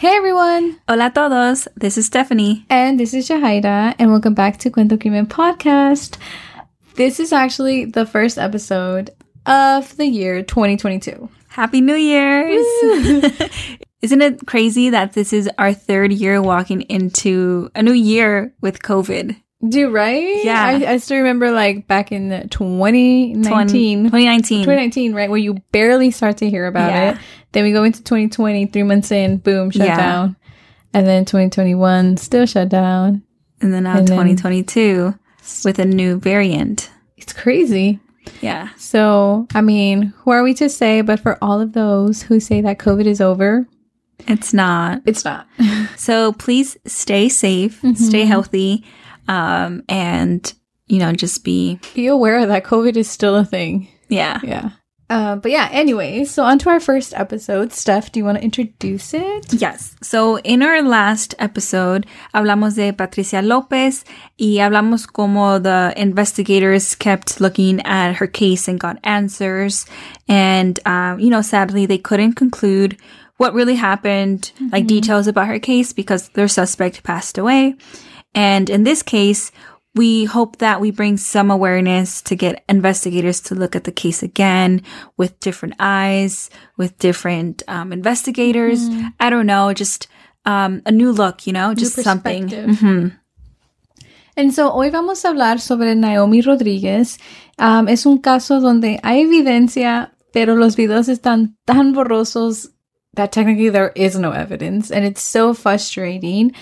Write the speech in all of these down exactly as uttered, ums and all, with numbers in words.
Hey everyone! Hola a todos! This is Stephanie. And this is Jahaira, and welcome back to Cuento Crimen Podcast. This is actually the first episode of the year twenty twenty-two. Happy New Year's! Isn't it crazy that this is our third year walking into a new year with COVID? Dude, right? Yeah. I, I still remember like back in twenty nineteen. twenty nineteen. twenty nineteen, right? Where you barely start to hear about Yeah. it. Then we go into twenty twenty, three months in, boom, shut Yeah. down. And then twenty twenty-one, still shut down. And then now And then- twenty twenty-two with a new variant. It's crazy. Yeah. So, I mean, who are we to say? But for all of those who say that COVID is over, It's not. it's not. So please stay safe, stay healthy, um, and, you know, just be, Be aware that COVID is still a thing. yeah. Yeah. Uh, but yeah, anyway, so on to our first episode. Steph, do you want to introduce it? Yes. So in our last episode, hablamos de Patricia Lopez y hablamos como the investigators kept looking at her case and got answers. And, um, you know, sadly, they couldn't conclude what really happened, like details about her case because their suspect passed away. And in this case, we hope that we bring some awareness to get investigators to look at the case again with different eyes, with different um, investigators. I don't know, just um, a new look, you know, just something. perspective. Mhm. And so hoy vamos a hablar sobre Naomi Rodríguez. Um, es un caso donde hay evidencia, pero los videos están tan borrosos that technically there is no evidence. And it's so frustrating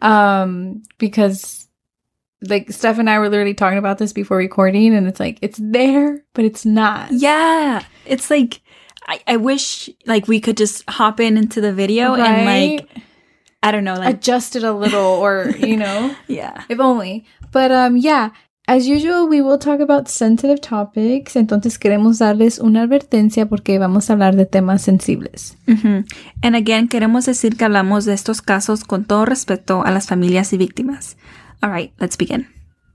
um, because like Steph and I were literally talking about this before recording, and it's like, it's there, but it's not. Yeah. It's like, I, I wish like we could just hop in into the video and Right? like, I don't know, like, Adjust it a little, or, you know, yeah. if only. But um, yeah, as usual, we will talk about sensitive topics. Entonces queremos darles una advertencia porque vamos a hablar de temas sensibles. Mhm. And again, queremos decir que hablamos de estos casos con todo respeto a las familias y víctimas. All right, let's begin.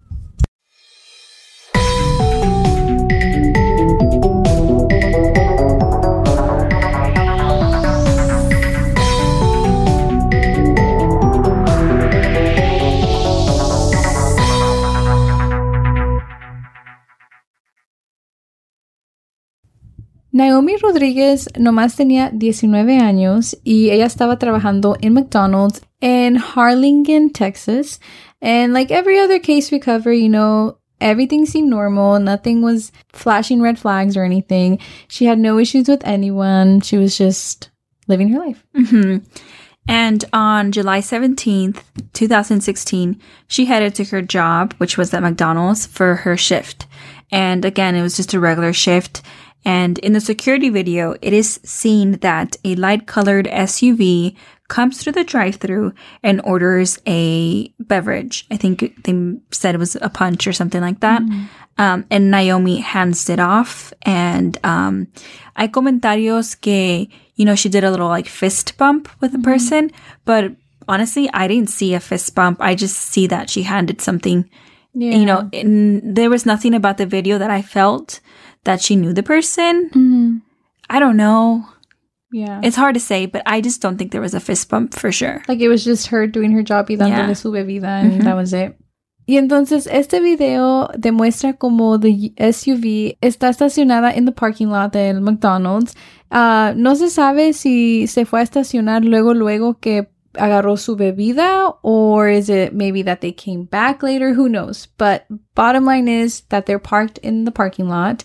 Naomi Rodríguez nomás tenía diecinueve años y ella estaba trabajando en McDonald's in Harlingen, Texas. And like every other case we cover, you know, everything seemed normal. Nothing was flashing red flags or anything. She had no issues with anyone. She was just living her life. Mhm. And on July seventeenth, twenty sixteen, she headed to her job, which was at McDonald's, for her shift. And again, it was just a regular shift. And in the security video, it is seen that a light-colored S U V comes through the drive-thru and orders a beverage. I think they said it was a punch or something like that. Um, and Naomi hands it off. And um, hay comentarios que, you know, she did a little like fist bump with the person. But honestly, I didn't see a fist bump. I just see that she handed something. Yeah. You know, in, there was nothing about the video that I felt that she knew the person. Mhm. I don't know. Yeah. It's hard to say, but I just don't think there was a fist bump for sure. Like it was just her doing her job y dándole Yeah. su bebida, and that was it. Y entonces este video demuestra como the S U V está estacionada in the parking lot del McDonald's. Uh, no se sabe si se fue a estacionar luego luego que agarró su bebida, or is it maybe that they came back later? Who knows? But bottom line is that they're parked in the parking lot.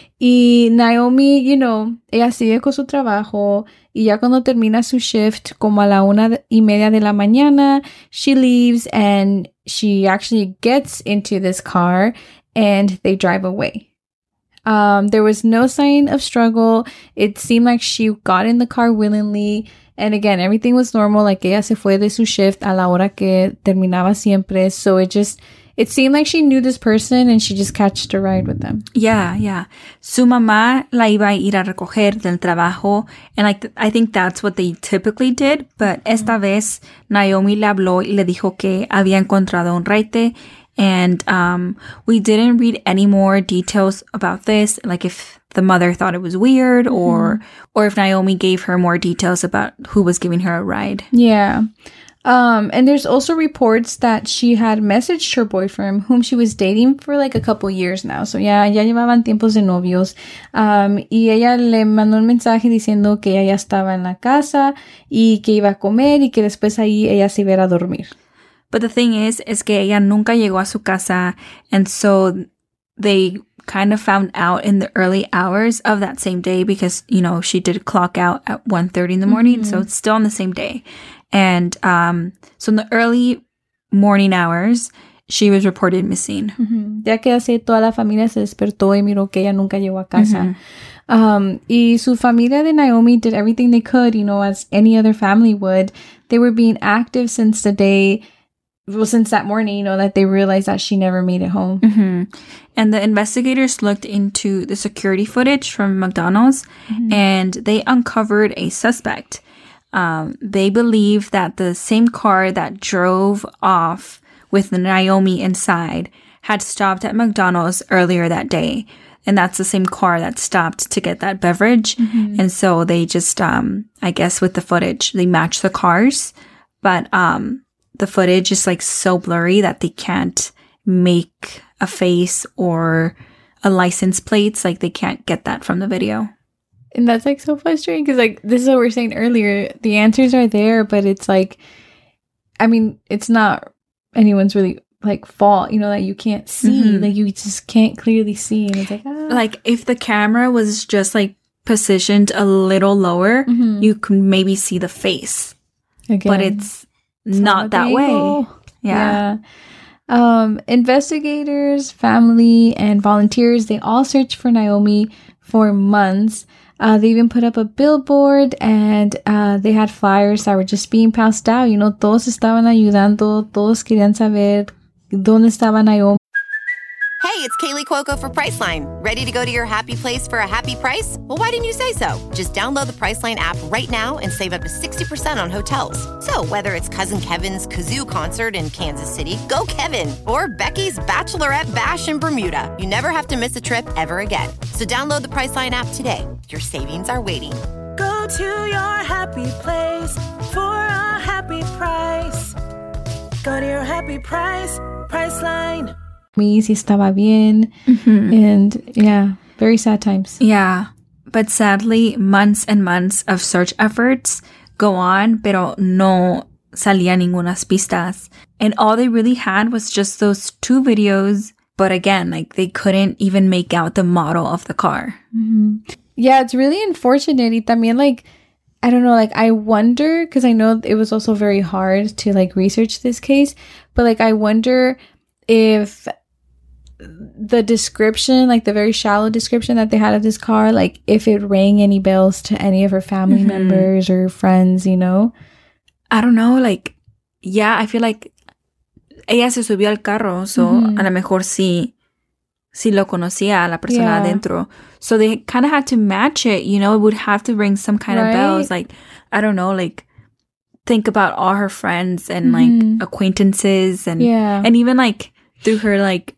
Y Naomi, you know, ella sigue con su trabajo y ya cuando termina su shift, como a la una y media de la mañana, she leaves and she actually gets into this car and they drive away. Um, there was no sign of struggle. It seemed like she got in the car willingly. And again, everything was normal. Like ella se fue de su shift a la hora que terminaba siempre. So it just, it seemed like she knew this person and she just catched a ride with them. Yeah, yeah. Su mamá la iba a ir a recoger del trabajo. And like, I think that's what they typically did. But esta vez, Naomi le habló y le dijo que había encontrado un raite. And um, we didn't read any more details about this, like if the mother thought it was weird, Mm-hmm. or or if Naomi gave her more details about who was giving her a ride. Yeah. Um, and there's also reports that she had messaged her boyfriend, whom she was dating for like a couple years now. So ya, ya llevaban tiempos de novios. Um, y ella le mandó un mensaje diciendo que ella ya estaba en la casa y que iba a comer y que después ahí ella se iba a ir a dormir. But the thing is, is que ella nunca llegó a su casa, and so they kind of found out in the early hours of that same day because, you know, she did clock out at one thirty in the morning, mm-hmm. so it's still on the same day. And um, so in the early morning hours, she was reported missing. Mm-hmm. Ya que así toda la familia se despertó y miró que ella nunca llegó a casa. Mm-hmm. Um, y su familia de Naomi did everything they could, you know, as any other family would. They were being active since the day, well, since that morning, you know, that they realized that she never made it home. Mm-hmm. And the investigators looked into the security footage from McDonald's, mm-hmm. and they uncovered a suspect. Um, they believe that the same car that drove off with Naomi inside had stopped at McDonald's earlier that day. And that's the same car that stopped to get that beverage. Mm-hmm. And so they just, um, I guess with the footage, they match the cars. But um, the footage is like so blurry that they can't make a face or a license plate. Like they can't get that from the video. And that's like so frustrating because like this is what we were saying earlier. The answers are there, but it's like, I mean, it's not anyone's really like fault, you know, that you can't see. Mm-hmm. Like you just can't clearly see. And it's like, ah. Like if the camera was just like positioned a little lower, mm-hmm. you could maybe see the face. Again, but it's, it's not that way. Yeah. yeah. Um, investigators, family, and volunteers, they all searched for Naomi for months. Uh, they even put up a billboard and uh, they had flyers that were just being passed out. You know, todos estaban ayudando, todos querían saber dónde estaba Naomi. Hey, it's Kaylee Cuoco for Priceline. Ready to go to your happy place for a happy price? Well, why didn't you say so? Just download the Priceline app right now and save up to sixty percent on hotels. So whether it's Cousin Kevin's Kazoo Concert in Kansas City, go Kevin, or Becky's Bachelorette Bash in Bermuda, you never have to miss a trip ever again. So download the Priceline app today. Your savings are waiting. Go to your happy place for a happy price. Go to your happy price, Priceline. Si estaba bien. Mm-hmm. And yeah, very sad times. Yeah. But sadly, months and months of search efforts go on, pero no salía ningunas pistas. And all they really had was just those two videos. But again, like they couldn't even make out the model of the car. Mm-hmm. Yeah, it's really unfortunate. Y también like, I don't know, like I wonder, because I know it was also very hard to like research this case, but like I wonder if the description, like the very shallow description that they had of this car, like if it rang any bells to any of her family mm-hmm. members or friends, you know? I don't know, like, yeah, I feel like ella se subió al carro, so mm-hmm. a lo mejor sí, sí lo conocía a la persona yeah. adentro. So they kind of had to match it, you know? It would have to ring some kind right? of bells, like, I don't know, like, think about all her friends and, mm-hmm. like, acquaintances and, yeah. and even, like, through her, like,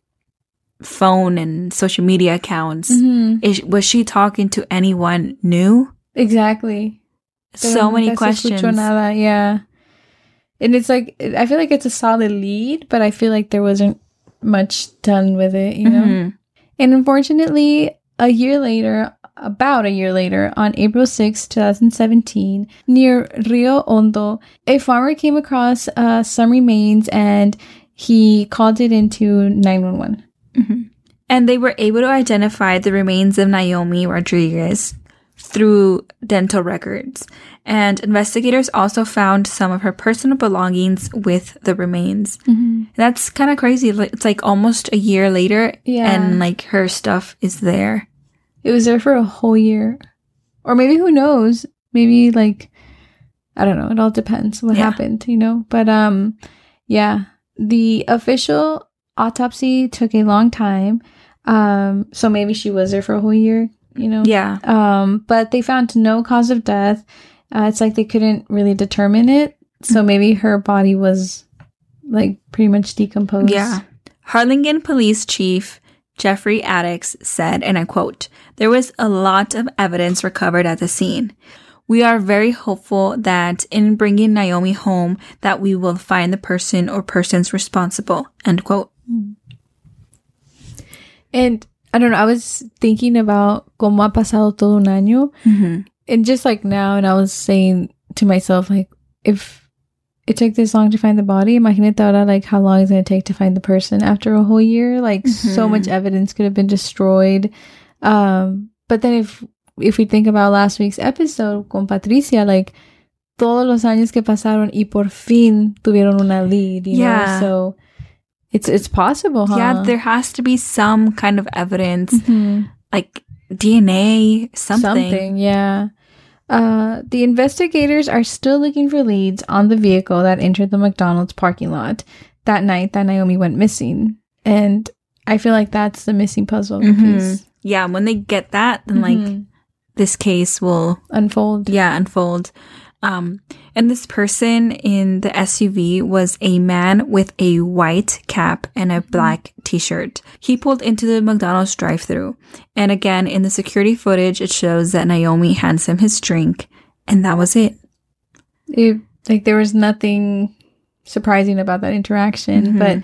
phone and social media accounts. Mm-hmm. Is, was she talking to anyone new? Exactly. So many questions. Nada. Yeah. And it's like, I feel like it's a solid lead, but I feel like there wasn't much done with it, you know? Mm-hmm. And unfortunately, a year later, about a year later, on April sixth, twenty seventeen, near Rio Hondo, a farmer came across uh, some remains and he called it into nine one one. Mm-hmm. And they were able to identify the remains of Naomi Rodriguez through dental records. And investigators also found some of her personal belongings with the remains. Mm-hmm. That's kind of crazy. It's like almost a year later, yeah. and like her stuff is there. It was there for a whole year. Or maybe, who knows? Maybe like, I don't know. It all depends what yeah. happened, you know? But um, yeah, the official autopsy took a long time. Um, so maybe she was there for a whole year, you know? Yeah. Um, but they found no cause of death. Uh, it's like they couldn't really determine it. So maybe her body was like pretty much decomposed. Yeah. Harlingen Police Chief Jeffrey Addix said, and I quote, "There was a lot of evidence recovered at the scene. We are very hopeful that in bringing Naomi home that we will find the person or persons responsible," end quote. And I don't know, I was thinking about cómo ha pasado todo un año. Mm-hmm. And just like now, and I was saying to myself, like, if it took this long to find the body, imagínate ahora, like, how long it's going to take to find the person after a whole year. Like, mm-hmm. so much evidence could have been destroyed. Um, but then if if we think about last week's episode con Patricia, like, todos los años que pasaron y por fin tuvieron una lead, you yeah. know? So it's it's possible, huh? Yeah, there has to be some kind of evidence, mm-hmm. like D N A, something. Something, yeah. Uh, the investigators are still looking for leads on the vehicle that entered the McDonald's parking lot that night that Naomi went missing. And I feel like that's the missing puzzle mm-hmm. piece. Yeah, when they get that, then mm-hmm. like this case will unfold. Yeah, unfold. Um, and this person in the S U V was a man with a white cap and a black t-shirt. He pulled into the McDonald's drive-thru. And again, in the security footage, it shows that Naomi hands him his drink. And that was it. It like, there was nothing surprising about that interaction. Mm-hmm. But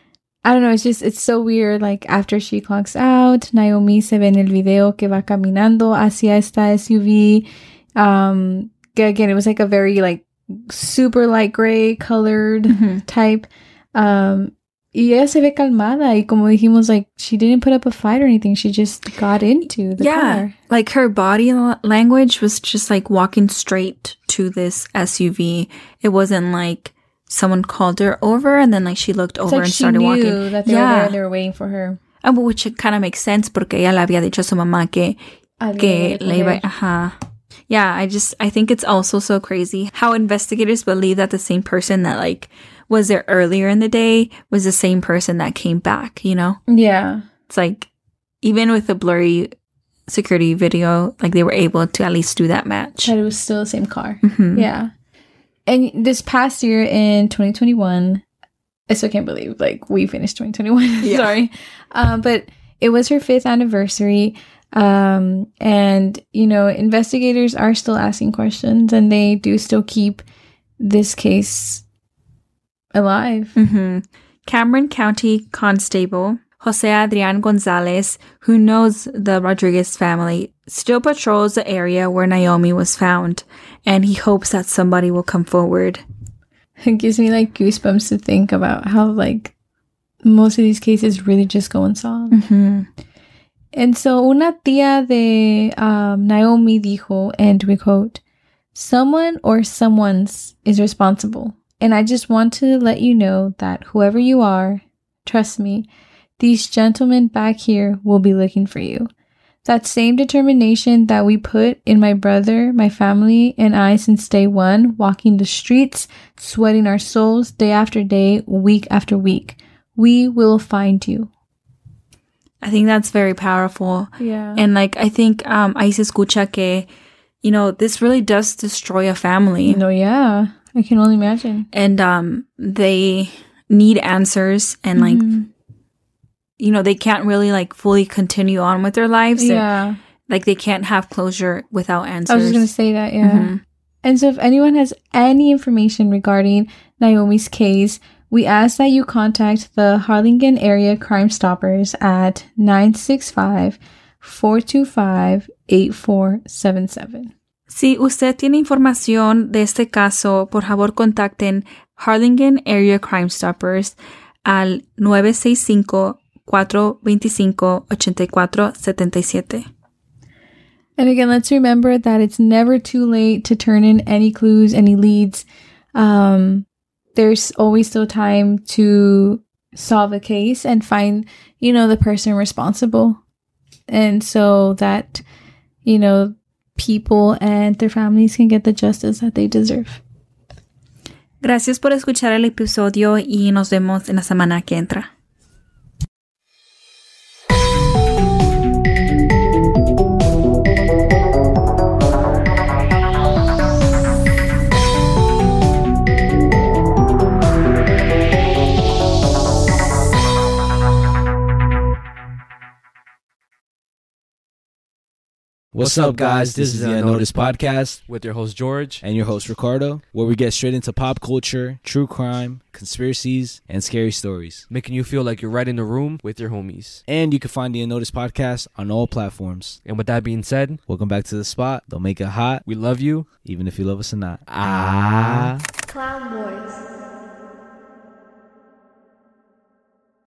I don't know, it's just, it's so weird. Like, after she clocks out, Naomi se ve en el video que va caminando hacia esta S U V. Um... Again, it was like a very like super light gray colored mm-hmm. type. Um, y ella se ve calmada. Y como dijimos, like, she didn't put up a fight or anything. She just got into the yeah, car. Like, her body language was just like walking straight to this S U V. It wasn't like someone called her over and then like she looked over like and started she knew walking. That they yeah. were there and they were waiting for her. And which kind of makes sense porque ella le había dicho a su mamá que, que le iba, ajá. Yeah, I just, I think it's also so crazy how investigators believe that the same person that, like, was there earlier in the day was the same person that came back, you know? Yeah. It's like, even with the blurry security video, like, they were able to at least do that match. That it was still the same car. Mm-hmm. Yeah. And this past year in twenty twenty-one, I still can't believe, like, we finished twenty twenty-one. Yeah. Sorry. Um, but it was her fifth anniversary. Um, and, you know, investigators are still asking questions and they do still keep this case alive. Mm-hmm. Cameron County Constable Jose Adrian Gonzalez, who knows the Rodriguez family, still patrols the area where Naomi was found, and he hopes that somebody will come forward. It gives me, like, goosebumps to think about how, like, most of these cases really just go unsolved. Mm-hmm. And so una tía de um, Naomi dijo, and we quote, "Someone or someone's is responsible. And I just want to let you know that whoever you are, trust me, these gentlemen back here will be looking for you. That same determination that we put in my brother, my family, and I since day one, walking the streets, sweating our souls day after day, week after week. We will find you." I think that's very powerful. Yeah. And, like, I think um, ahí se escucha que, you know, this really does destroy a family. No, yeah. I can only imagine. And um, they need answers and, like, mm-hmm. you know, they can't really, like, fully continue on with their lives. Yeah. And, like, they can't have closure without answers. I was just going to say that, yeah. Mm-hmm. And so if anyone has any information regarding Naomi's case, we ask that you contact the Harlingen Area Crime Stoppers at nine six five, four two five, eight four seven seven. Si usted tiene información de este caso, por favor contacten Harlingen Area Crime Stoppers al nueve seis cinco, cuatro dos cinco, ocho cuatro siete siete. And again, let's remember that it's never too late to turn in any clues, any leads. Um... There's always still time to solve a case and find, you know, the person responsible. And so that, you know, people and their families can get the justice that they deserve. Gracias por escuchar el episodio y nos vemos en la semana que entra. What's up, guys? This is the Unnoticed Podcast with your host, George. And your host, Ricardo, where we get straight into pop culture, true crime, conspiracies, and scary stories. Making you feel like you're right in the room with your homies. And you can find the Unnoticed Podcast on all platforms. And with that being said, welcome back to the spot. Don't make it hot. We love you. Even if you love us or not. Ah.